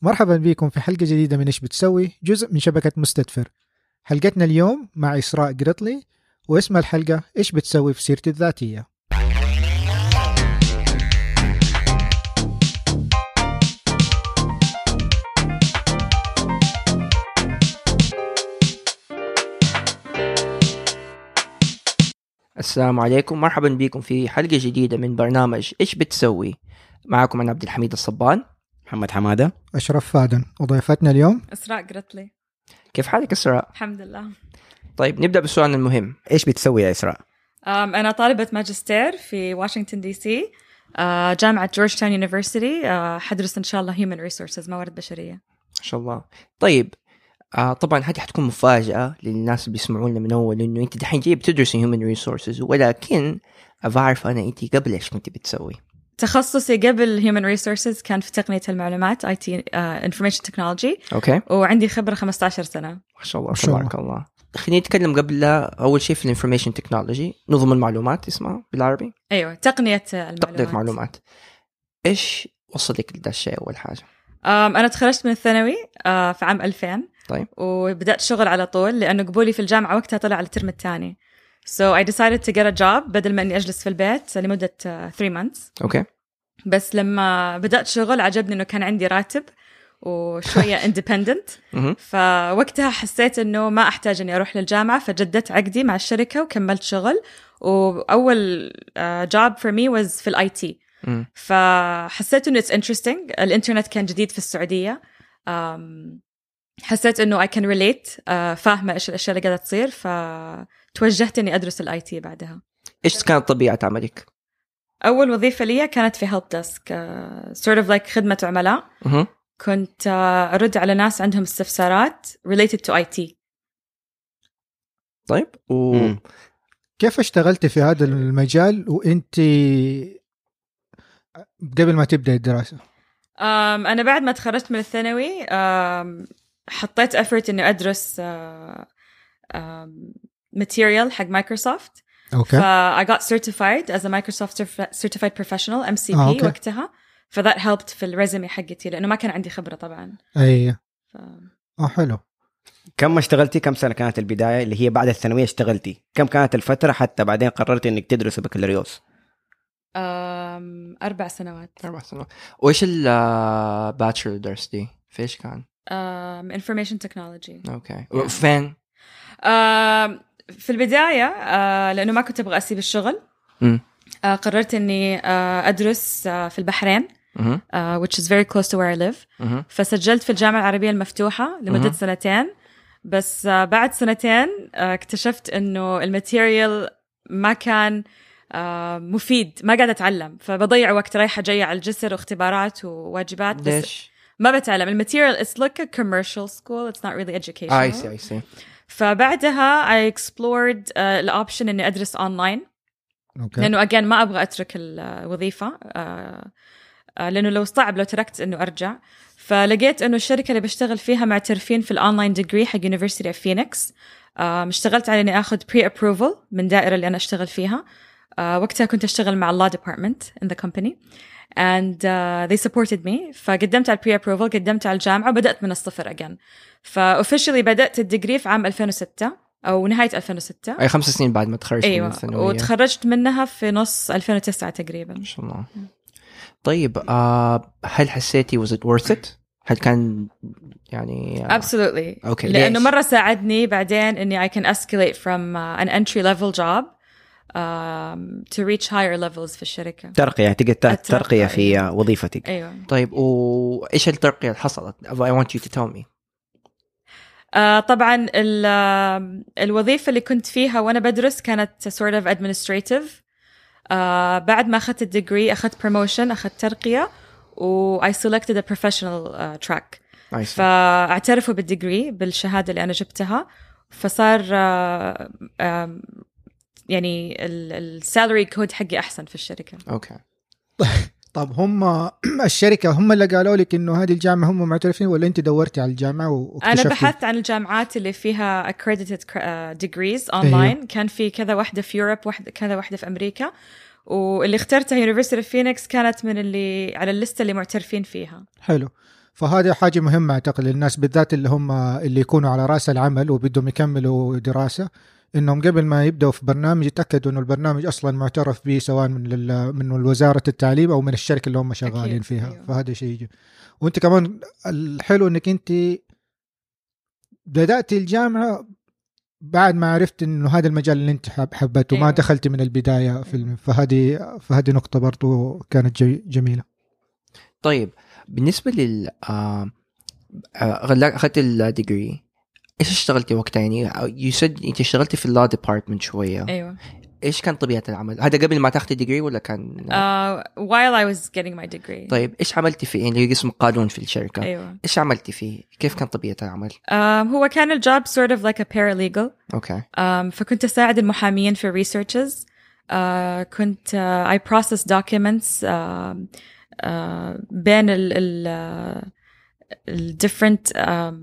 مرحبا بكم في حلقة جديدة من إيش بتسوي، جزء من شبكة مستدفر. حلقتنا اليوم مع إسراء قرطلي، واسم الحلقة إيش بتسوي في سيرتي الذاتية. السلام عليكم، مرحبا بكم في حلقة جديدة من برنامج إيش بتسوي. معكم أنا عبد الحميد الصبان، محمد حمادة، أشرف فادن، وضيفتنا اليوم إسراء قرطلي. كيف حالك إسراء؟ الحمد لله. طيب نبدأ بالسؤال المهم، إيش بتسوي يا إسراء؟ أنا طالبة ماجستير في واشنطن دي سي، جامعة جورج تاون يونيفرسيتي. حدرس إن شاء الله Human Resources، موارد بشرية. ما شاء الله. طيب طبعا هذه حتكون مفاجأة للناس اللي بيسمعونا من أول، إنه أنت دحين جاي بتدرسي Human Resources، ولكن أعرف أنا أنت قبل إيش كنت بتسوي؟ تخصصي قبل Human Resources كان في تقنية المعلومات IT Information Technology. أوكي. وعندي خبرة 15 سنة. ما شاء الله تبارك الله. خلينا نتكلم قبل أول شيء في Information Technology، نظم المعلومات اسمها بالعربي. أيوة، تقنية المعلومات. تقنية معلومات. إيش وصلك لهذا الشيء أول حاجة؟ أنا تخرجت من الثانوي في عام 2000. طيب. وبدأت شغل على طول، لأنه قبولي في الجامعة وقتها طلع على الترم الثاني. So I decided to get a job بدل ما إني أجلس في البيت لمدة 3 months. أوكي. بس لما بدأت شغل عجبني إنه كان عندي راتب وشوية independent. فوقتها حسيت إنه ما أحتاج إني أروح للجامعة، فجددت عقدي مع الشركة وكملت شغل. وأول job for me was في الآي تي. فحسيت إنه it's interesting. الإنترنت كان جديد في السعودية. حسيت إنه I can relate، فاهمة إيش الأشياء اللي قاعدة تصير، فتوجهت إني أدرس الآي تي بعدها. إيش كانت طبيعة عملك؟ أول وظيفة لي كانت في help desk، sort of like خدمة عملاء. كنت أرد على ناس عندهم استفسارات related to IT. طيب كيف اشتغلت في هذا المجال وانت قبل ما تبدأ الدراسة؟ أنا بعد ما تخرجت من الثانوي حطيت effort إني أدرس material حق مايكروسوفت. أوكي. I got certified as a Microsoft certified professional MCP وقتها. that helped في الريزومي حقتي، لأنه ما كان عندي خبرة طبعا. أيه. حلو. كم اشتغلتي؟ كم سنة كانت البداية اللي هي بعد الثانوية اشتغلتي؟ كم كانت الفترة حتى بعدين قررتي إنك تدرسي بكالوريوس؟ 4 سنوات. 4 سنوات. وإيش الباتشلر درستي؟ فيش كان؟ Information Technology. أوكي. وفين؟ في البداية لأنه ما كنت أبغى أسيب الشغل. قررت إني أدرس في البحرين، which is very close to where I live. فسجلت في الجامعة العربية المفتوحة لمدة 2 سنين. بس بعد 2 سنين اكتشفت إنه الماتيريال ما كان مفيد، ما قاعدة أتعلم، فبضيع وقت رايحة جاية على الجسر واختبارات وواجبات. بس ليش؟ ما بتعلم الماتيريال. It's like a commercial school. It's not really educational. I see. فبعدها I explored الأوبشن إني أدرس أونلاين. لأنه again ما أبغى أترك الوظيفة، لأنه لو صعب لو تركت إنه أرجع. فلقيت إنه الشركة اللي بشتغل فيها معترفين في الأونلاين ديجري حق University of Phoenix. اشتغلت على إني أخذ pre-approval من دائرة اللي أنا أشتغل فيها. وقتها كنت أشتغل مع law department in the company and they supported me. فقدمت على pre-approval، قدمت على الجامعة وبدأت من الصفر again. فofficially بدأت الديجري في عام 2006 أو نهاية 2006. أي 5 سنين بعد ما تخرجت من الثانوية. وتخرجت منها في نص 2009 تقريبا. ما شاء الله. طيب هل حسيتي was it worth it؟ هل كان يعني absolutely. okay. لأنه مرة ساعدني بعدين إني I can escalate from an entry level job to reach higher levels في الشركة. ترقية، تقدر ترقية في وظيفتك. أيوة. طيب وإيش الترقية اللي حصلت؟ I want you to tell me. طبعا الوظيفة اللي كنت فيها وأنا بدرس كانت sort of administrative. بعد ما أخذت الديجري أخذت promotion، أخذت ترقية، و I selected a professional track. فاعترفوا بالديجري بالشهادة اللي أنا جبتها. فصار يعني السالري كود حقي أحسن في الشركة. أوكي. طب هم الشركة هم اللي قالوا لك إنه هذه الجامعة هم معترفين، ولا أنت دورتي على الجامعة واكتشفتي؟ أنا بحثت عن الجامعات اللي فيها accredited degrees online. كان في كذا واحدة في يوروب، كذا واحدة في أمريكا، واللي اخترتها University of Phoenix كانت من اللي على الليستة اللي معترفين فيها. حلو. فهذا حاجة مهمة أعتقد للناس بالذات اللي هم اللي يكونوا على رأس العمل وبدهم يكملوا دراسة، إنهم قبل ما يبدأوا في برنامج يتأكدوا إنه البرنامج أصلا معترف به سواء من وزارة التعليم أو من الشركة اللي هم شغالين فيها. أيوه. فهذا شيء يجي. وأنت كمان الحلو إنك أنت بدأت الجامعة بعد ما عرفت إنه هذا المجال اللي أنت حبته. ما دخلت من البداية في فهذه نقطة برضو كانت جميلة. طيب بالنسبة لل أخذت الديجري، إيش اشتغلتي وقتها؟ يعني you said أنت اشتغلتي في law department شوية. أيوة. إيش كان طبيعة العمل؟ هذا قبل ما تاخذي الديجري ولا كان؟ while I was getting my degree. طيب إيش عملتي فيه؟ يعني قسم قانون في الشركة. أيوة. إيش عملتي فيه؟ كيف كان طبيعة العمل؟ هو كان الجوب sort of like a paralegal. أوكي. فكنت أساعد المحامين في researches. كنت I process documents بين ال different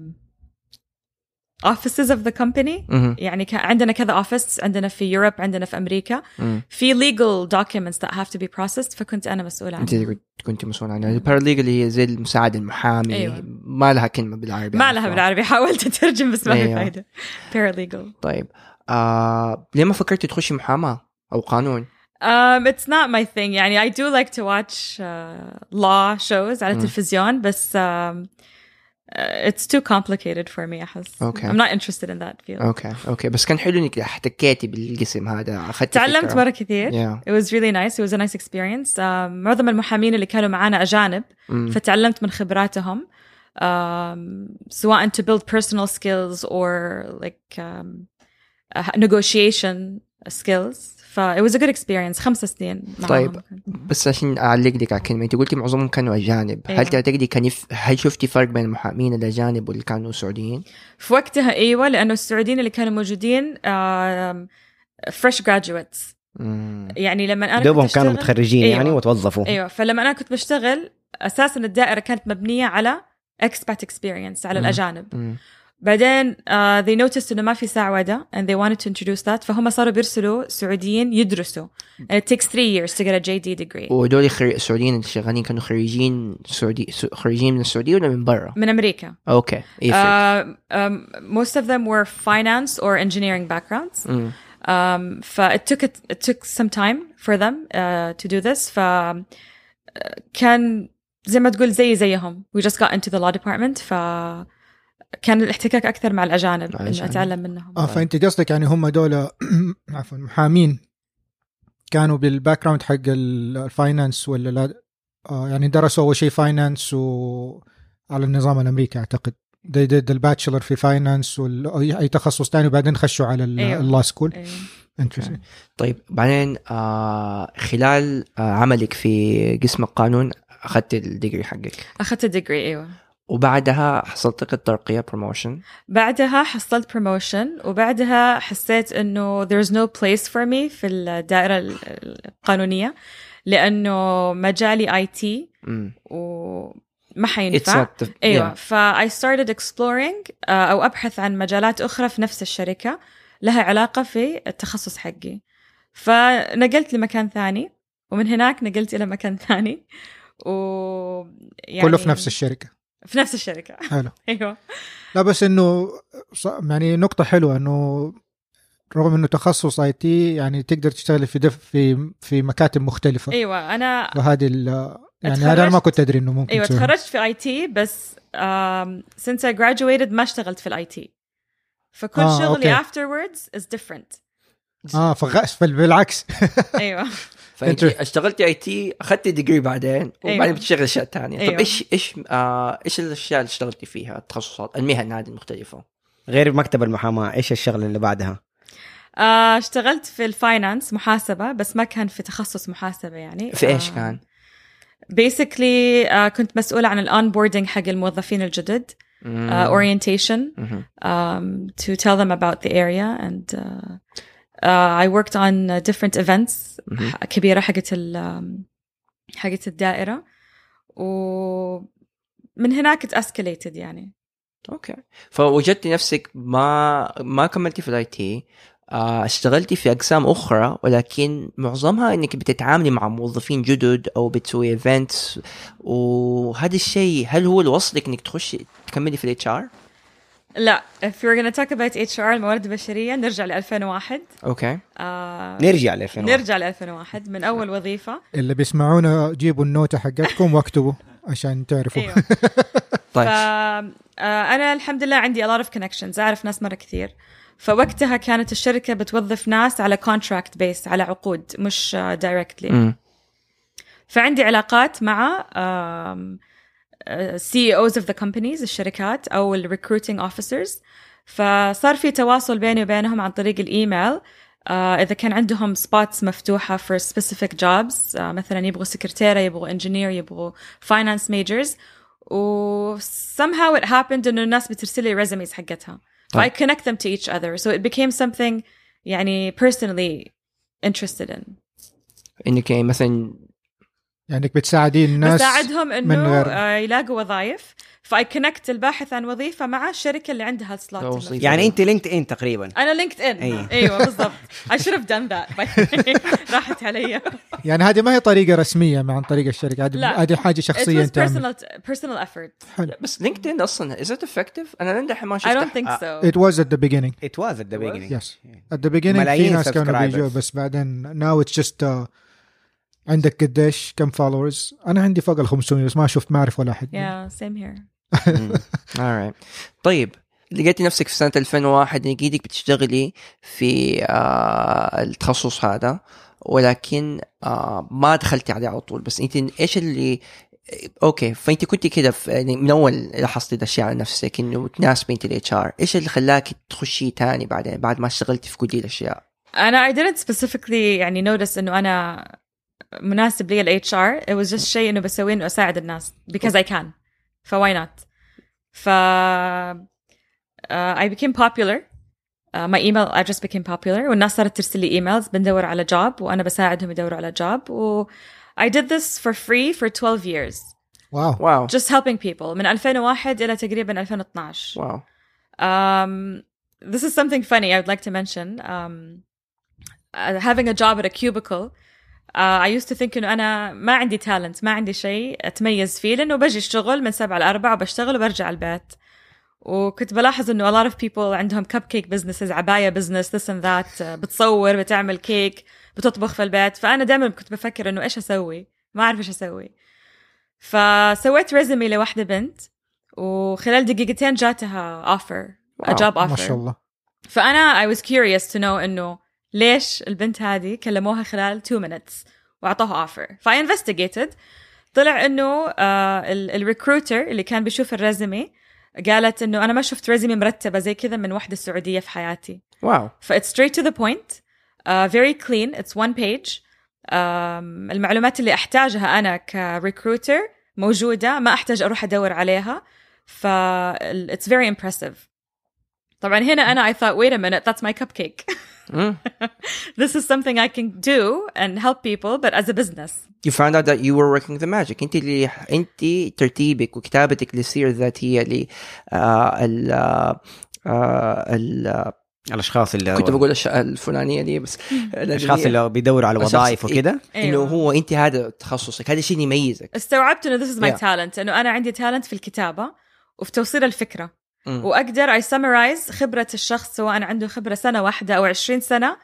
offices of the company. يعني عندنا كذا office، عندنا في Europe، عندنا في أمريكا. في legal documents that have to be processed، فكنت أنا مسؤولة عنها. أنت كنت مسؤولة عنها. البارalegal هي زي المساعد المحامي. أيوة. ما لها كلمة بالعربي. ما لها بالعربي، حاولت أترجم بس ما في فايدة. paralegal. طيب ليه ما فكرتي تخشي محاماة أو قانون؟ It's not my thing. يعني I do like to watch law shows على التلفزيون، بس it's too complicated for me أحس. Okay. I'm not interested in that field. Okay. بس كان حلو إنك احتكيتي بالقسم هذا، أخذت تعلمت فكرة. مرة كثير. Yeah. It was really nice. It was a nice experience. معظم المحامين اللي كانوا معانا أجانب، فتعلمت من خبراتهم. سواء to build personal skills or like negotiation skills. it was a good experience. 5 سنين معهم. طيب بس عشان أعلق لك على كلمة، أنت قلتي معظمهم كانوا أجانب. أيوة. هل تعتقدي هل شفتي فرق بين المحامين الأجانب واللي كانوا سعوديين؟ في وقتها أيوة، لأنه السعوديين اللي كانوا موجودين fresh graduates. يعني لما أنا دوبهم كانوا متخرجين. أيوة. يعني وتوظفوا. أيوة. فلما أنا كنت بشتغل أساسا الدائرة كانت مبنية على expat experience على الأجانب. بعدين they noticed إنه ما في سعودة and they wanted to introduce that، فهم صاروا بيرسلوا سعوديين يدرسوا. And it takes 3 years to get a JD degree. ودول السعوديين اللي شغالين كانوا خريجين من السعودية ولا من برا؟ من أمريكا. Okay. Most of them were finance or engineering backgrounds. It took some time for them to do this. كان زي ما تقول زيهم. We just got into the law department. كان الاحتكاك أكثر مع الأجانب إنه أتعلم منهم. فأنت قصدك يعني هم دول عفوا محامين كانوا بالباك جراوند حق الفاينانس ولا لا؟ يعني درسوا أول شيء فاينانس وعلى النظام الأمريكي أعتقد they did الباتشلر في فاينانس أي تخصص تاني وبعدين خشوا على اللا سكول. أيوة. طيب بعدين خلال عملك في قسم القانون أخذت الديجري حقك؟ أخذت الديجري أيوة. وبعدها حصلت لك الترقية promotion؟ بعدها حصلت promotion، وبعدها حسيت إنه there's no place for me في الدائرة القانونية، لأنه مجالي IT وما حينفع. أيوة. I started exploring أو أبحث عن مجالات أخرى في نفس الشركة لها علاقة في التخصص حقي. فنقلت لمكان ثاني، ومن هناك نقلت إلى مكان ثاني، كله في نفس الشركة. في نفس الشركة. حلو. أيوة. لا بس إنه يعني نقطة حلوة إنه رغم إنه تخصص IT يعني تقدر تشتغل في مكاتب مختلفة. أيوة. أنا وهذه يعني أنا ما كنت أدري إنه ممكن. أيوة تخرجت في IT بس since I graduated ما اشتغلت في IT، فكل شغلي afterwards is different. بالعكس. أيوة. فأنت اشتغلتي IT، أخذتي ديجري بعدين وبعدين بتشتغل أشياء تانية. أيوة. طب إيش الأشياء اللي اشتغلتي فيها، التخصصات المهن هذه المختلفة غير مكتب المحاماة؟ إيش الشغل اللي بعدها؟ اشتغلت في الفاينانس محاسبة، بس ما كان في تخصص محاسبة. يعني في إيش كان؟ basically كنت مسؤولة عن الonboarding حق الموظفين الجدد. Orientation to tell them about the area and I worked on different events كبيرة حقت الدائرة، ومن هناك escalated يعني. أوكي. فوجدتي نفسك ما كملتي في الIT، اشتغلتي في أقسام أخرى ولكن معظمها إنك بتتعاملي مع موظفين جدد أو بتسوي إيفنتس، وهذا الشيء هل هو اللي وصلك إنك تكملي في الHR؟ لا if we're gonna talk about HR الموارد البشرية نرجع ل 2001. أوكي. نرجع ل 2001 من أول وظيفة. اللي بيسمعونا جيبوا النوتة حقتكم واكتبوا عشان تعرفوا. أيوة. طيب. أنا الحمد لله عندي a lot of connections، أعرف ناس مرة كثير. فوقتها كانت الشركة بتوظف ناس على contract base، على عقود مش directly. فعندي علاقات مع CEOs of the companies الشركات أو recruiting officers، فصار في تواصل بيني وبينهم عن طريق الإيميل. إذا كان عندهم spots مفتوحة for specific jobs، مثلا يبغوا سكرتيرة، يبغوا engineer، يبغوا finance majors، و somehow it happened إنه الناس بترسلي resumes حقتها. I connect them to each other, so it became something يعني personally interested in. إنك مثلا يعني بتساعدين الناس، بساعدهم إنه يلاقوا وظائف. فاي كونكت الباحث عن وظيفة مع الشركة اللي عندها السلوت. يعني أنت لينكد إن تقريبا. أنا لينكد إن. أيوة بالضبط. I should have done that. راحت علي. يعني هذه ما هي طريقة رسمية عن طريق الشركة، هذه حاجة شخصية. It was personal effort. حلو. بس لينكد إن أصلا is it effective؟ أنا لندح ما شفتها. I don't think so. It was at the beginning. Yes. At the beginning في ناس كانوا بيجوا، بس بعدين now it's just عندك قديش كم followers؟ أنا عندي فوق 500 بس ما شفت، ما أعرف ولا أحد. Yeah, same here. alright. طيب لقيتي نفسك في سنة 2001 لقيتك بتشتغلي في التخصص هذا، ولكن ما دخلتي عليه على طول. بس انت ايش اللي اوكي، فانت كنتي كده يعني من اول لاحظتي الاشياء على نفسك انه تناسبي انت الHR، ايش اللي خلاك تخشي تاني بعدين بعد ما اشتغلتي في كل دي الاشياء؟ أنا I didn't specifically يعني notice إنه أنا مناسب لي الHR. it was just شيء إنه بسويه إنه أساعد الناس because I can. why not? I became popular. My email address became popular والناس صارت ترسل لي emails بندور على job وأنا بساعدهم يدوروا على job. و I did this for free for 12 years. Wow. Just helping people من 2001 إلى تقريبا 2012. Wow. This is something funny I would like to mention. Having a job at a cubicle, I used to think إنه أنا ما عندي talent، ما عندي شيء أتميز فيه، لأنه بجي الشغل من 7 ل 4 وبشتغل وبرجع البيت. وكنت بلاحظ إنه a lot of people عندهم cupcake businesses، عباية business، this and that، بتصور، بتعمل كيك، بتطبخ في البيت. فأنا دائما كنت بفكر إنه إيش أسوي، ما أعرف إيش أسوي. فسويت ريزومي لواحدة بنت، وخلال دقيقتين جاتها offer، a job offer. ما شاء الله. فأنا I was curious to know إنه ليش البنت هذه كلموها خلال 2 minutes وعطوها offer. فا investigated، طلع إنه الريكروتر اللي كان بيشوف الريزومي قالت إنه أنا ما شفت ريزومي مرتبة زي كذا من واحدة سعودية في حياتي. واو. فا it's straight to the point, very clean, it's 1 page. المعلومات اللي أحتاجها أنا كريكروتر موجودة، ما أحتاج أروح أدور عليها. it's very impressive. طبعا هنا أنا I thought wait a minute, that's my cupcake. This is something I can do and help people, but as a business. You found out that you were working the magic. انت ترتيبك وكتابتك للسيرة الذاتية الاشخاص اللي كنت بقول الفلانية دي، بس الاشخاص اللي بيدوروا على وظائف وكده. انه هو انت هذا تخصصك، هذا الشيء اللي يميزك. استوعبت انه this is my talent، انه انا عندي talent في الكتابة وفي توصيل الفكرة. وأقدر I summarize خبرة الشخص سواء عنده خبرة سنة واحدة أو 20 سنة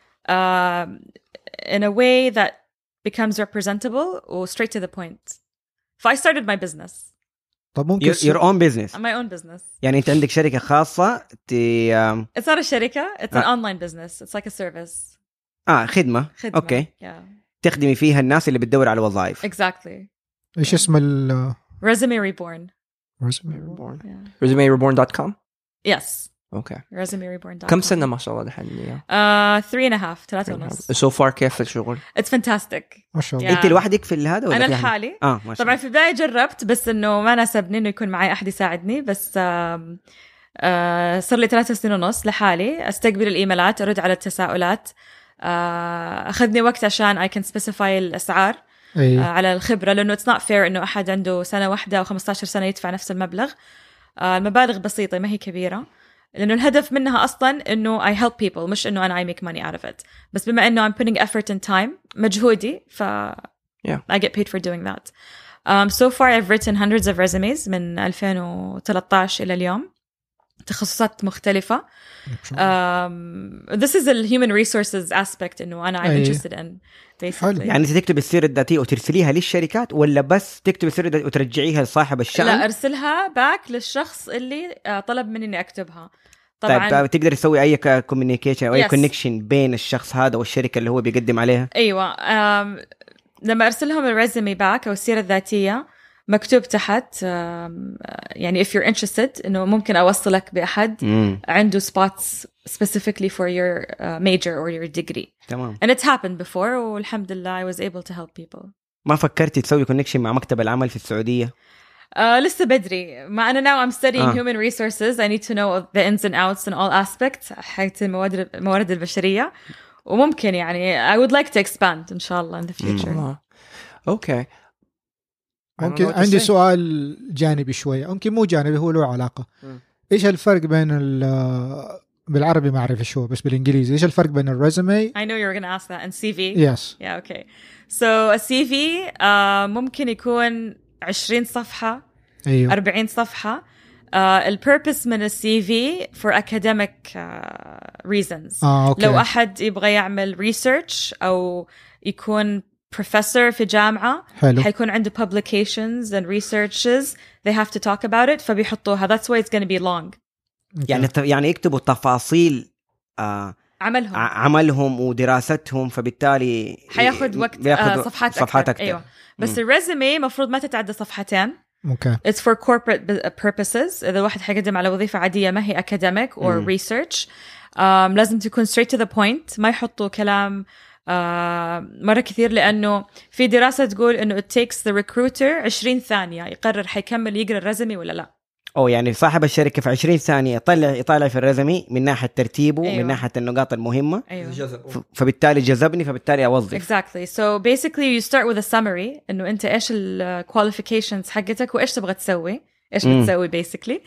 in a way that becomes representable و straight to the point. So I started my business. طب ممكن your own business. My own business. يعني أنت عندك شركة خاصة It's not a شركة, it's an online business. It's like a service. خدمة. أوكي. Yeah. تخدمي فيها الناس اللي بتدور على وظائف. Exactly. إيش اسم ال Resume Reborn. Resume Reborn. Yeah. ResumeReborn.com. Yes. Okay. ResumeReborn.com. كم سنة ما شاء الله دحين؟ 3.5 So far كيف الشغل؟ It's fantastic. ما شاء الله. أنت لوحدك في هذا ولا أنا لحالي؟ طبعا في البداية جربت، بس إنه ما ناسبني إنه يكون معي أحد يساعدني. بس صار لي 3 سنين ونص لحالي، أستقبل الإيميلات، أرد على التساؤلات. أخذني وقت عشان I can specify الأسعار على الخبرة، لأنه it's not fair إنه أحد عنده سنة واحدة أو 15 سنة يدفع نفس المبلغ. المبالغ بسيطة ما هي كبيرة. لأنه الهدف منها أصلاً إنه I help people مش إنه أنا I make money out of it. بس بما إنه I'm putting effort and time مجهودي I get paid for doing that. So far I've written hundreds of resumes من 2013 إلى اليوم, تخصصات مختلفة. This is the human resources aspect إنه أنا I'm interested in basically. يعني أنت تكتب السيرة الذاتية وترسليها للشركات ولا بس تكتب السيرة الذاتية وترجعيها لصاحب الشأن؟ لا, أرسلها باك للشخص اللي طلب مني إني أكتبها. طبعاً طيب تقدر تسوي أي كوميونيكيشن أو أي كونكشن بين الشخص هذا والشركة اللي هو بيقدم عليها؟ أيوة. لما أرسلهم الريزومي باك أو السيرة الذاتية مكتوب تحت يعني if you're interested إنه ممكن أوصلك بأحد عنده spots specifically for your major or your degree. تمام. And it's happened before والحمد لله I was able to help people. ما فكرتي تسوي connection مع مكتب العمل في السعودية؟ لسه بدري. ما أنا now I'm studying human resources. I need to know the ins and outs and all aspects حيث الموارد البشرية, وممكن يعني I would like to expand إن شاء الله in the future. Okay. ممكن عندي سؤال جانبي شوية, ممكن مو جانبي, هو له علاقة. إيش الفرق بين بالعربي ما أعرف إيش هو, بس بالإنجليزي إيش الفرق بين الريزومي؟ I know you're gonna ask that. And CV. Yes. Yeah. Okay. So a CV ممكن يكون 20 صفحة, أيوه. 40 صفحة. البيربس من السي في for academic reasons. أوكي. لو أحد يبغى يعمل research أو يكون professor في جامعة, حلو. حيكون عنده publications and researches they have to talk about it, فبيحطوها. That's why it's going to be long. يعني يكتبوا تفاصيل عملهم ودراستهم, فبالتالي حياخد وقت صفحات أكتر. أيوة. بس الريزومي مفروض ما تتعدى صفحتين. Okay. It's for corporate purposes. إذا واحد حيقدم على وظيفة عادية ما هي academic or research, لازم تكون straight to the point, ما يحطوا كلام مرة كثير, لأنه في دراسة تقول إنه it takes the recruiter 20 ثانية يقرر حيكمل يقرأ الرزمي ولا لا. يعني صاحب الشركة في 20 ثانية يطلع في الرزمي من ناحية ترتيبه. أيوة. من ناحية النقاط المهمة. أيوة. فبالتالي جذبني, فبالتالي أوظف. Exactly. So basically you start with a summary إنه أنت إيش ال qualifications حقتك وإيش تبغى تسوي, إيش بتسوي basically,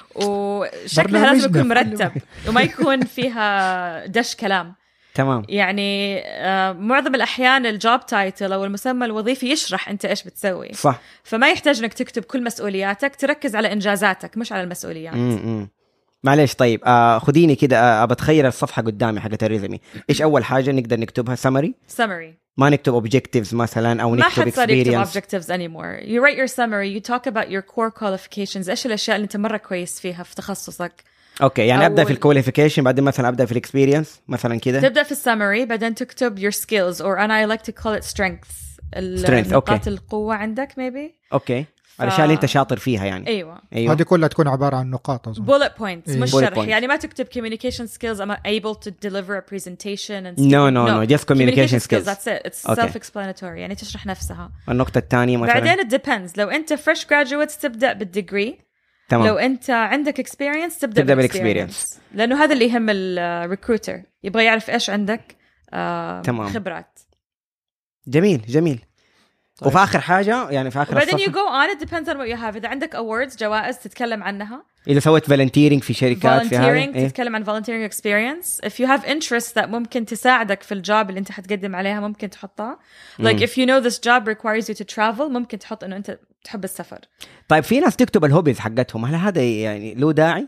وشكلها لازم يكون مرتب وما يكون فيها دش كلام. تمام. يعني معظم الأحيان الجوب تايتل أو المسمى الوظيفي يشرح أنت إيش بتسوي. صح. فما يحتاج إنك تكتب كل مسؤولياتك, تركز على إنجازاتك مش على المسؤوليات. معليش. طيب خديني كده بتخيل الصفحة قدامي حقت الريزمي. إيش أول حاجة نقدر نكتبها؟ summary. ما نكتب objectives مثلا أو نكتب experience. ما حد objectives anymore. You write your summary. You talk about your core qualifications. إيش الأشياء اللي أنت مرة كويس فيها في تخصصك. اوكي, يعني ابدا في الكواليفيكيشن, بعدين مثلا ابدا في الاكسبيرينس مثلا كده. تبدا في السمري, بعدين تكتب your skills or I like to call it strengths. نقاط القوه عندك maybe. اوكي. الاشياء اللي انت شاطر فيها يعني. ايوه. هذه كلها تكون عباره عن نقاط اظن. bullet points. مش شرح. يعني ما تكتب communication skills I'm able to deliver a presentation and no just communication skills. That's it. It's self-explanatory. يعني تشرح نفسها. النقطه الثانيه مثلا. بعدين it depends. لو انت fresh graduates تبدا بالdegree. تمام. لو أنت عندك experience تبدأ بالexperience, لأنه هذا اللي يهم الريكروتر, يبغى يعرف إيش عندك خبرات. جميل. طيب. وفي آخر حاجة يعني في آخر بعدين you go on, it depends on what you have. إذا عندك awards, جوائز تتكلم عنها. إذا سويت volunteering في شركات في هذا تتكلم عن volunteering experience. If you have interest that ممكن تساعدك في الجوب اللي أنت حتقدم عليها ممكن تحطها. Like if you know this job requires you to travel, ممكن تحط إنه أنت تحب السفر. طيب في ناس تكتب الهوبيز حقتهم, هل هذا يعني له داعي؟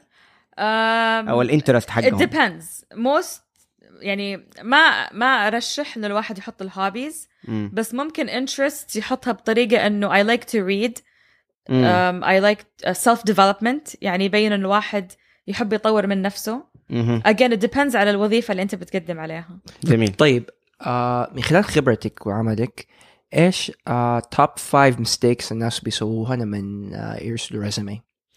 أو الانترست حقهم. It depends. Most يعني ما أرشح إنه الواحد يحط الهوبيز, بس ممكن interest يحطها بطريقة إنه I like to read, I like self-development, يعني يبين إن الواحد يحب يطور من نفسه. Again it depends على الوظيفة اللي أنت بتقدم عليها. جميل. طيب من خلال خبرتك وعملك إيش top 5 mistakes الناس بيسووها لما يرسلوا resume؟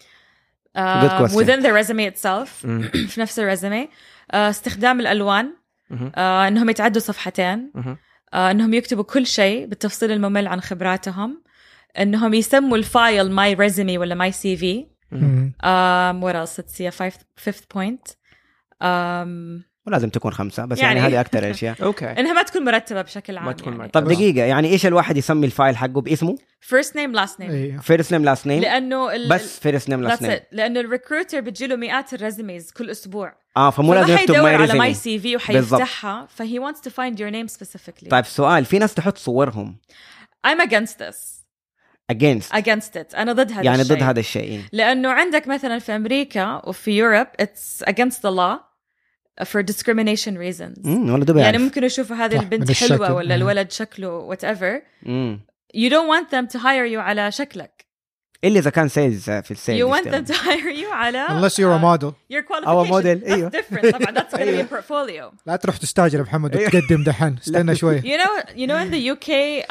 within the resume itself. في نفس الريزومي استخدام الألوان, إنهم يتعدوا صفحتين, إنهم يكتبوا كل شيء بالتفصيل الممل عن خبراتهم, إنهم يسموا الفايل my resume ولا my CV. What else? Let's see a fifth point. ولازم تكون 5 بس يعني هذه أكتر الأشياء. أوكي. إنها ما تكون مرتبة بشكل عام. يعني. طب دقيقة، يعني إيش الواحد يسمي الفايل حقه باسمه؟ first name last name. first name last name. لأنه بس first name last name. لأنه الريكروتر بتجيله مئات الريزوميز كل أسبوع. فمو لازم يكتب ما على ماي سي في وحيفتحها فهي wants to find your name specifically. طيب سؤال، في ناس تحط صورهم. I'm against this. against it. أنا ضد هذا يعني الشيء. ضد هذا الشيء. لأنه عندك مثلا في أمريكا وفي يوروب it's against the law for discrimination reasons. يعني ممكن يشوفوا هذه البنت حلوة ولا الولد شكله whatever. You don't want them to hire you على شكلك. إلا إذا كان سيلز في السيلز. You want them to hire you على unless you're a model. Your qualification. model. That's different. طبعا that's going to be a portfolio. لا تروح تستاجر محمد وتقدم دحين. استنى شوي. You know in the UK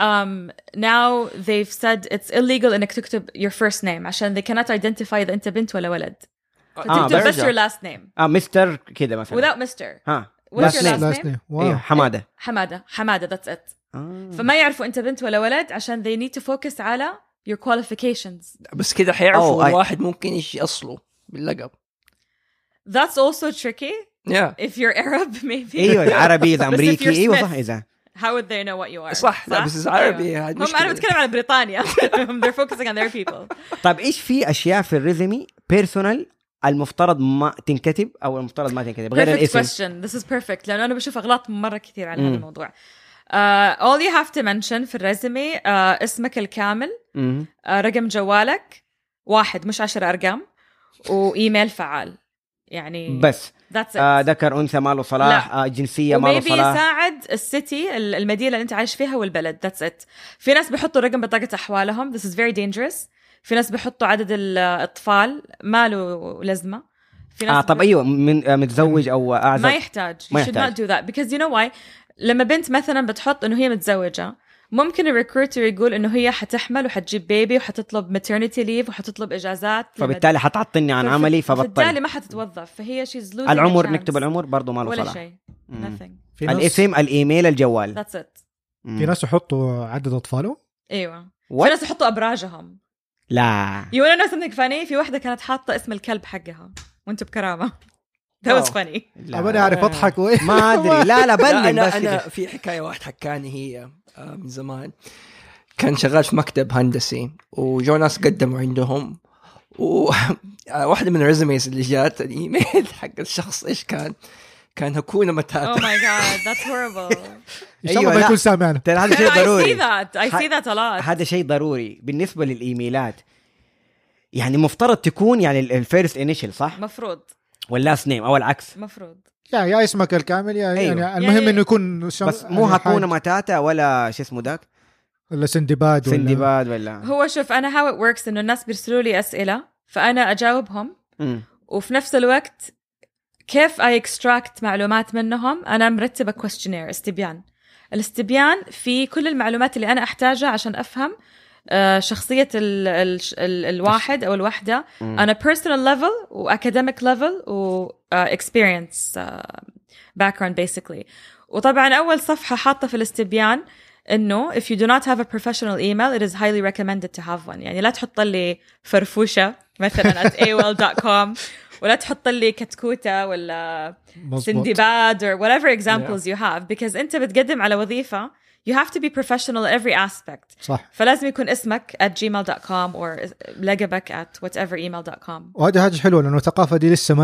now they've said it's illegal إنك تكتب your first name عشان they cannot identify إذا أنت بنت ولا ولد. فتكتب بس your last name. مستر كده مثلا. Without Mr. What's your last name? Wow. حمادة that's it. فما يعرفوا أنت بنت ولا ولد عشان they need to focus على your qualifications. بس كده حيعرفوا الواحد ممكن إيش أصله باللقب. That's also tricky. Yeah. If you're Arab maybe. أيوة عربي إذا أمريكي أيوة صح إذا. How would they know what you are? صح. لا بس عربي. هم أنا بتكلم على بريطانيا. They're focusing on their people. طيب إيش في أشياء في الريزمي personal المفترض ما تنكتب أو المفترض ما تنكتب غير الاسم؟ Perfect question. This is perfect. لأنه أنا بشوف أغلاط مرة كثير على هذا الموضوع. All you have to mention في الريزمي اسمك الكامل، رقم جوالك 1 مش 10 أرقام، وإيميل فعال. يعني بس ذكر أنثى ماله صلاح، جنسية ماله صلاح، وميبي يساعد السيتي المدينة اللي أنت عايش فيها والبلد. That's it. في ناس بيحطوا رقم بطاقة أحوالهم. This is very dangerous. في ناس بيحطوا عدد الأطفال ما له لازمة. في ناس طب أيوة متزوج أو أعزب ما يحتاج. You should not do that because you know why. لما بنت مثلا بتحط إنه هي متزوجة ممكن الريكروتر يقول إنه هي حتحمل وحتجيب بيبي وحتطلب maternity leave وحتطلب إجازات، فبالتالي حتعطني عن عملي فبالتالي ما حتتوظف. فهي she's losing العمر. نكتب العمر برضو ما له صلاح. nothing. الاسم، الإيميل، الجوال. That's it. في ناس يحطوا عدد أطفاله. أيوة. في ناس يحطوا أبراجهم. لا. You wanna know something funny؟ في واحدة كانت حاطة اسم الكلب حقها وانتو بكرامة. That was funny. أنا أعرف أضحك ما أدري. لا بلن. أنا في حكاية واحد حكاني هي من زمان. كان شغال في مكتب هندسي وجو ناس قدموا عندهم، وواحدة من الريزوميز اللي جات الإيميل حق الشخص إيش كان هكونا متاتا. Oh my god, that's horrible. إن شاء الله ما يكون سامعنا. هذا شيء ضروري. I see that a lot. هذا شيء ضروري بالنسبة للإيميلات. يعني مفترض تكون يعني الفيرست إنيشل صح؟ مفروض. واللاست نيم أو العكس. مفروض. يا اسمك الكامل يا أيوه. يعني المهم إنه يكون بس مو هكونا متاتا ولا شو اسمه ذاك ولا سندباد ولا هو شوف أنا how it works إنه الناس بيرسلوا لي أسئلة فأنا أجاوبهم وفي نفس الوقت كيف I extract معلومات منهم. أنا مرتبة questionnaire الاستبيان في كل المعلومات اللي أنا أحتاجها عشان أفهم شخصية الواحد أو الوحدة on a personal level و academic level و experience background basically. وطبعا أول صفحة حاطة في الاستبيان إنه if you do not have a professional email it is highly recommended to have one. يعني لا تحط لي فرفوشة مثلا at AOL.com ولا تحط لي كتكوتة ولا سندباد or whatever examples you have because أنت بتقدم على وظيفة you have to be professional in every aspect. صح. فلازم يكون اسمك @gmail.com or لقبك whatever email.com. وهذا حاجة حلوة لأنه الثقافة دي لسه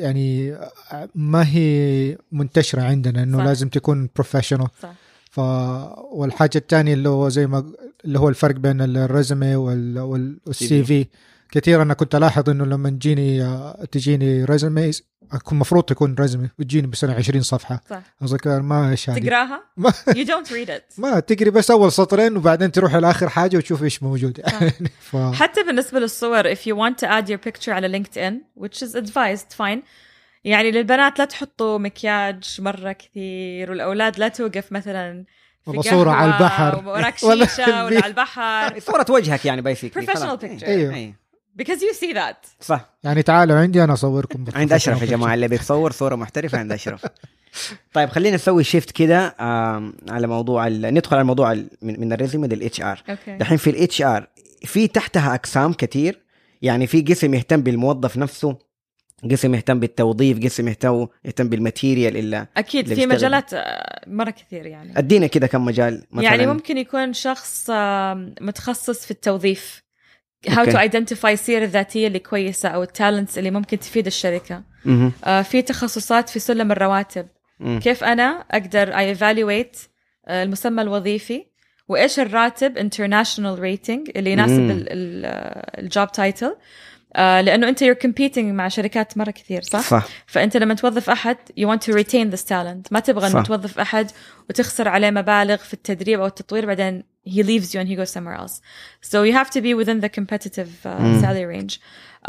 ما هي منتشرة عندنا إنه صح. لازم تكون professional. صح. والحاجة الثانية اللي هو زي ما اللي هو الفرق بين الريزمي والسي في. كثير أنا كنت ألاحظ إنه لما تجيني ريزمي أكون مفروض تكون ريزمي وتجيني بسنة 20 صفحة. أذكر ما إيش هذه. تقراها؟ You don't read it. ما تقري بس أول سطرين وبعدين تروح لآخر حاجة وتشوف إيش موجود. حتى بالنسبة للصور if you want to add your picture على LinkedIn which is advised fine. يعني للبنات لا تحطوا مكياج مرة كثير والأولاد لا توقف مثلا في صورة على البحر وراك شيشة ولا على البحر. صورة وجهك يعني basically. Professional picture. أيوه. Because you see that. صح. يعني تعالوا عندي أنا أصوركم. عند أشرف يا جماعة اللي بيتصور صورة محترفة عند أشرف. طيب خلينا نسوي شيفت كده على موضوع ندخل على الموضوع من الريزومي للاتش ار. الحين في الاتش ار في تحتها أقسام كتير. يعني في قسم يهتم بالموظف نفسه قسم يهتم بالتوظيف، قسم يهتم بالماتيريال إلا أكيد في مجالات مرة كثير يعني. أدينا كده كم مجال مثلا. يعني ممكن يكون شخص متخصص في التوظيف how to identify السيرة الذاتية اللي كويسة أو التالنتس اللي ممكن تفيد الشركة. في تخصصات في سلم الرواتب، كيف أنا أقدر I evaluate المسمى الوظيفي وإيش الراتب international rating اللي يناسب الجوب تايتل، لأنه أنت you're competing مع شركات مرة كثير صح؟ فأنت لما توظف أحد you want to retain this talent، ما تبغى أن توظف أحد وتخسر عليه مبالغ في التدريب أو التطوير بعدين he leaves you and he goes somewhere else. So you have to be within the competitive salary range.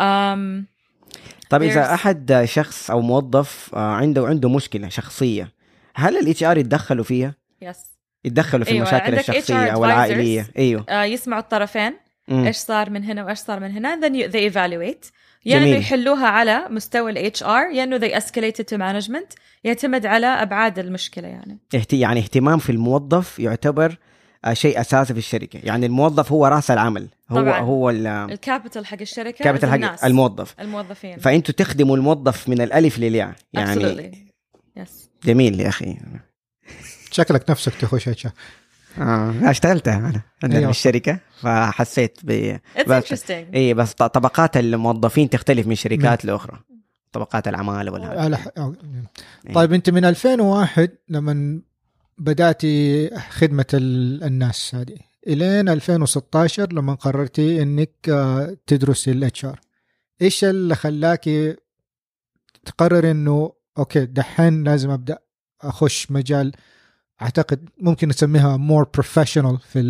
طيب إذا أحد شخص أو موظف عنده مشكلة شخصية، هل ال HR يتدخلوا فيها؟ Yes. يتدخلوا في المشاكل الشخصية أو العائلية؟ أيوه. يسمعوا الطرفين إيش صار من هنا وإيش صار من هنا، then they evaluate. يعني يحلوها على مستوى ال HR، يعني they escalate it to management. يعتمد على أبعاد المشكلة يعني. يعني اهتمام في الموظف يعتبر شيء أساسي في الشركة. يعني الموظف هو رأس العمل، هو الكابيتال حق الشركة، كابيتال حق الموظفين. فأنتوا تخدموا الموظف من الألف للياء يعني. yes. جميل يا أخي. شكلك نفسك تخش HR. اشتغلتها أنا في الشركة فحسيت بس طبقات الموظفين تختلف من شركات لأخرى، طبقات العمالة والهذا. طيب أنت من 2001 لما بدأتي خدمة الناس هذه إلين 2016 لما قررتي إنك تدرسي الHR، إيش اللي خلاكي تقرر إنه أوكي دحين لازم أبدأ أخش مجال أعتقد ممكن نسميها more professional في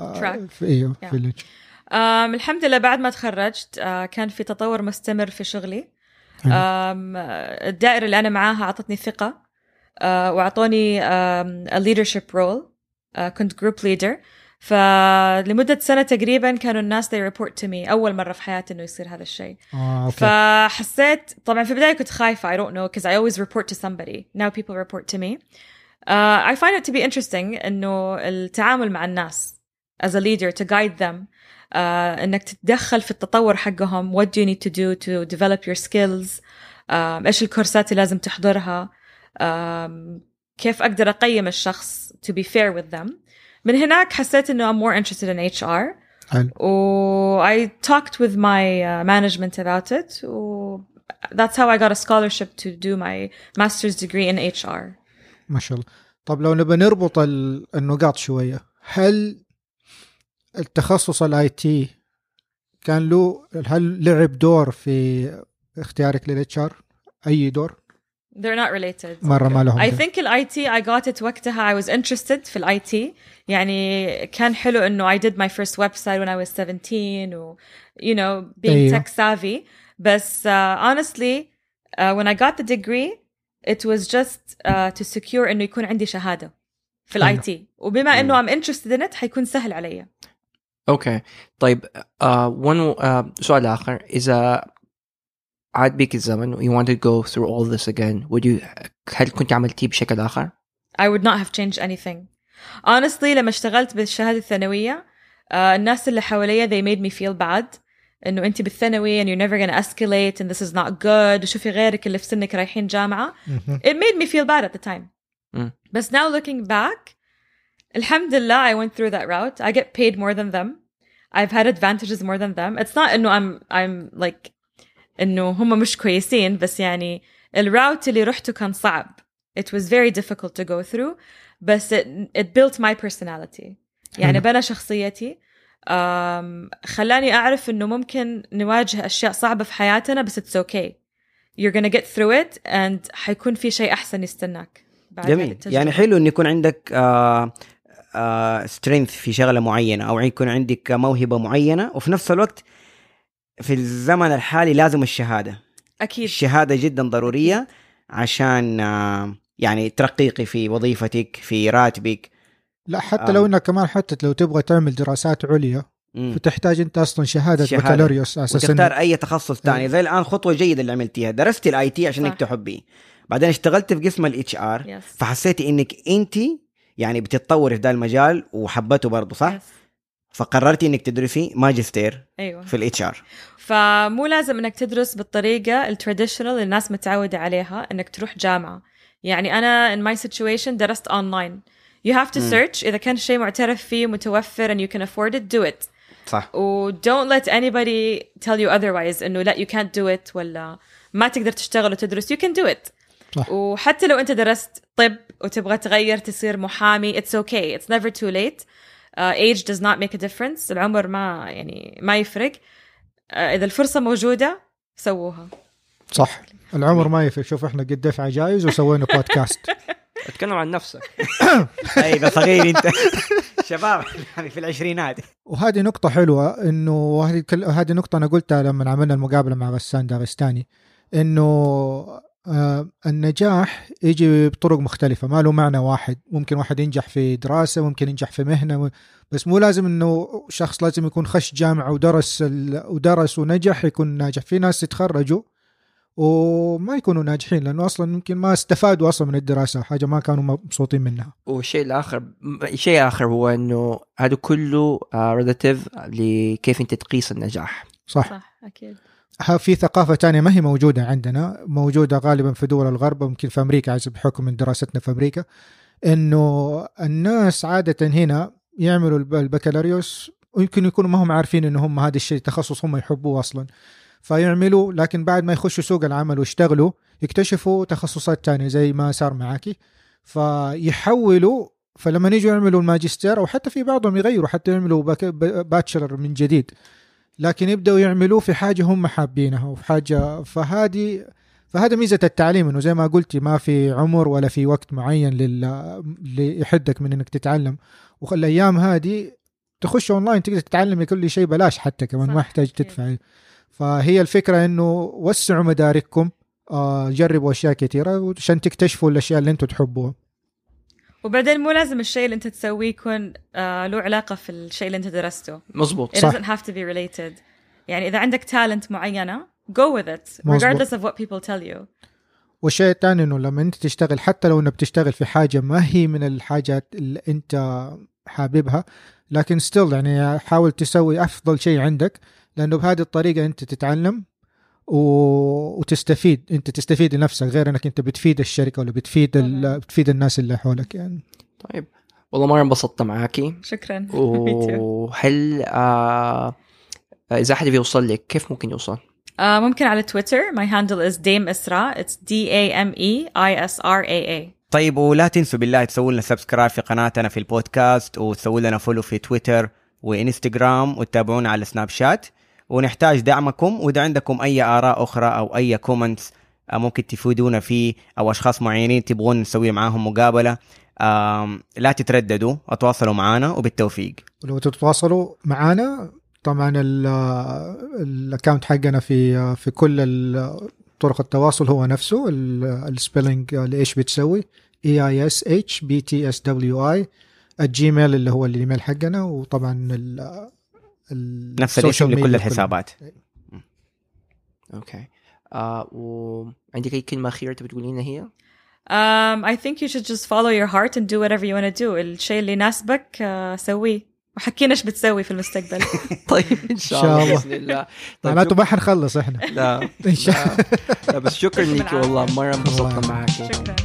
الحمد لله بعد ما تخرجت كان في تطور مستمر في شغلي. الدائرة اللي أنا معاها أعطتني ثقة وأعطوني a leadership role. كنت group leader، فلمدة سنة تقريبا كانوا الناس they report to me، أول مرة في حياتي إنه يصير هذا الشيء. فحسيت طبعا في البداية كنت خايفة I don't know because I always report to somebody. Now people report to me. I find it to be interesting إنه التعامل مع الناس as a leader to guide them. إنك تتدخل في التطور حقهم. What do you need to do to develop your skills؟ إيش الكورسات اللي لازم تحضرها؟ كيف أقدر أقيم الشخص to be fair with them. من هناك حسيت إنه I'm more interested in HR. I talked with my management about it. That's how I got a scholarship to do my master's degree in HR. ما شاء الله. طب لو نبى نربط النقاط شوية، هل التخصص IT هل لعب دور في اختيارك للHR؟ أي دور؟ They're not related. مرة ما لهم. I think IT I got it وقتها I was interested في IT. يعني كان حلو إنه I did my first website when I was 17 و you know being tech savvy. بس honestly when I got the degree it was just to secure إنه يكون عندي شهادة في الIT، وبما إنه I'm interested in it حيكون سهل علي. أوكي طيب سؤال آخر، إذا عاد بيك الزمن you want to go through all this again هل كنت عملتيه بشكل آخر؟ I would not have changed anything. Honestly لما اشتغلت بالشهادة الثانوية الناس اللي حواليا they made me feel bad إنه أنت بالثانوي and you're never gonna escalate and this is not good وشوفي غيرك اللي في سنك رايحين جامعة. It made me feel bad at the time. But now looking back الحمد لله I went through that route. I get paid more than them. I've had advantages more than them. It's not إنه I'm like إنه هم مش كويسين، بس يعني الراوت اللي رحته كان صعب. It was very difficult to go through. بس it built my personality. يعني بنى شخصيتي. خلاني أعرف إنه ممكن نواجه أشياء صعبة في حياتنا بس it's okay. You're gonna get through it and حيكون في شيء أحسن يستناك. جميل. يعني حلو إن يكون عندك strength في شغلة معينة أو يكون عندك موهبة معينة، وفي نفس الوقت في الزمن الحالي لازم الشهادة. أكيد. الشهادة جدا ضرورية عشان يعني ترقيقي في وظيفتك في راتبك. لا حتى لو انك كمان حتى لو تبغى تعمل دراسات عليا فتحتاج انت اصلا شهاده بكالوريوس اساسا وتختار اي تخصص ثاني. زي الان خطوه جيده اللي عملتيها، درست الIT عشان انك تحبيه، بعدين اشتغلت في قسم الHR فحسيتي انك انت يعني بتتطوري في ذا المجال وحبته برضه صح. فقررتي انك تدرسي ماجستير أيوة. في الاتش ار. فمو لازم انك تدرس بالطريقه التراديشنال اللي الناس متعوده عليها انك تروح جامعه. يعني انا in my situation درست online. you have to search اذا كان شيء معترف فيه متوفر and you can afford it, do it. صح. و don't let anybody tell you otherwise انه لا you can't do it ولا ما تقدر تشتغل وتدرس. you can do it. صح. وحتى لو انت درست طب وتبغى تغير تصير محامي it's okay, it's never too late. age does not make a difference. العمر ما يفرق. إذا الفرصة موجودة سووها. صح. العمر ما يفرق. شوف إحنا قد دفع جايز وسوينا بودكاست. اتكلم عن نفسك. أي صغير أنت. شباب يعني في العشرينات. وهذه نقطة حلوة إنه هذه نقطة أنا قلتها لما عملنا المقابلة مع غسان داغستاني إنه النجاح يجي بطرق مختلفة. ما له معنى واحد. ممكن واحد ينجح في دراسة ممكن ينجح في مهنة بس مو لازم إنه شخص لازم يكون خش جامعة ودرس ونجح يكون ناجح. في ناس يتخرجوا وما يكونوا ناجحين لأنه أصلا ممكن ما استفادوا أصلا من الدراسة حاجة ما كانوا مبسوطين منها. شيء آخر هو إنه هذا كله relative لكيف أنت تقيس النجاح. صح أكيد. في ثقافة تانية ما هي موجودة عندنا. موجودة غالبا في دول الغرب وممكن في أمريكا عزب بحكم من دراستنا في أمريكا. إنه الناس عادة هنا يعملوا البكالوريوس ويمكن يكونوا ما هم عارفين إنه هم هذا الشيء تخصص هم يحبوه أصلا فيعملوا. لكن بعد ما يخشوا سوق العمل ويشتغلوا يكتشفوا تخصصات تانية زي ما صار معاكي فيحولوا. فلما يجوا يعملوا الماجستير أو حتى في بعضهم يغيروا حتى يعملوا باتشلر من جديد لكن يبدأوا يعملوا في حاجة هم حابينها وفي حاجة. فهذا ميزة التعليم إنه زي ما قلتي ما في عمر ولا في وقت معين اللي يحدك من إنك تتعلم. والأيام هذه تخش أونلاين تقدر تتعلم كل شيء بلاش حتى كمان ما يحتاج تدفع. فهي الفكرة إنه وسعوا مدارككم جربوا أشياء كثيرة عشان تكتشفوا الأشياء اللي أنتوا تحبوها. وبعدين مو لازم الشيء اللي أنت تسويه يكون له علاقة في الشيء اللي أنت درسته. مزبوط. It doesn't have to be related. يعني إذا عندك talent معينة go with it regardless of what people tell you. والشيء الثاني إنه لما أنت تشتغل حتى لو إنك بتشتغل في حاجة ما هي من الحاجات اللي أنت حاببها لكن still يعني حاول تسوي أفضل شيء عندك لأنه بهذه الطريقة أنت تتعلم وتستفيد. أنت تستفيد لنفسك غير أنك أنت بتفيد الشركة ولا بتفيد الناس اللي حولك يعني. طيب والله مرة انبسطت معاكي. شكرا. وهل إذا أحد بيوصل لك كيف ممكن يوصل؟ ممكن على تويتر. my handle is Dame Isra. it's DAMEISRAA. طيب ولا تنسوا بالله تسووا لنا سبسكرايب في قناتنا في البودكاست وتسووا لنا فولو في تويتر وإنستغرام وتتابعونا على سناب شات. ونحتاج دعمكم وإذا عندكم أي آراء أخرى أو أي كومنتس ممكن تفيدونا فيه أو أشخاص معينين تبغون نسوي معاهم مقابلة لا تترددوا اتواصلوا معنا وبالتوفيق. ولو تتواصلوا معنا طبعا الاكاونت حقنا في كل طرق التواصل هو نفسه السبيلنج لإيش بتسوي EISHBTSWI الجيميل اللي هو الايميل حقنا وطبعا نفس الاسم لكل الحسابات. اوكي. وعندك اي كلمه اخيره تبي تقولينها هي؟ I think you should just follow your heart and do whatever you want to do. الشيء اللي يناسبك سويه وحكينا ايش بتسوي في المستقبل. طيب ان شاء الله باذن الله. معناته ما حنخلص احنا. لا بس شكرا لك والله مره انبسطنا معك. شكرا.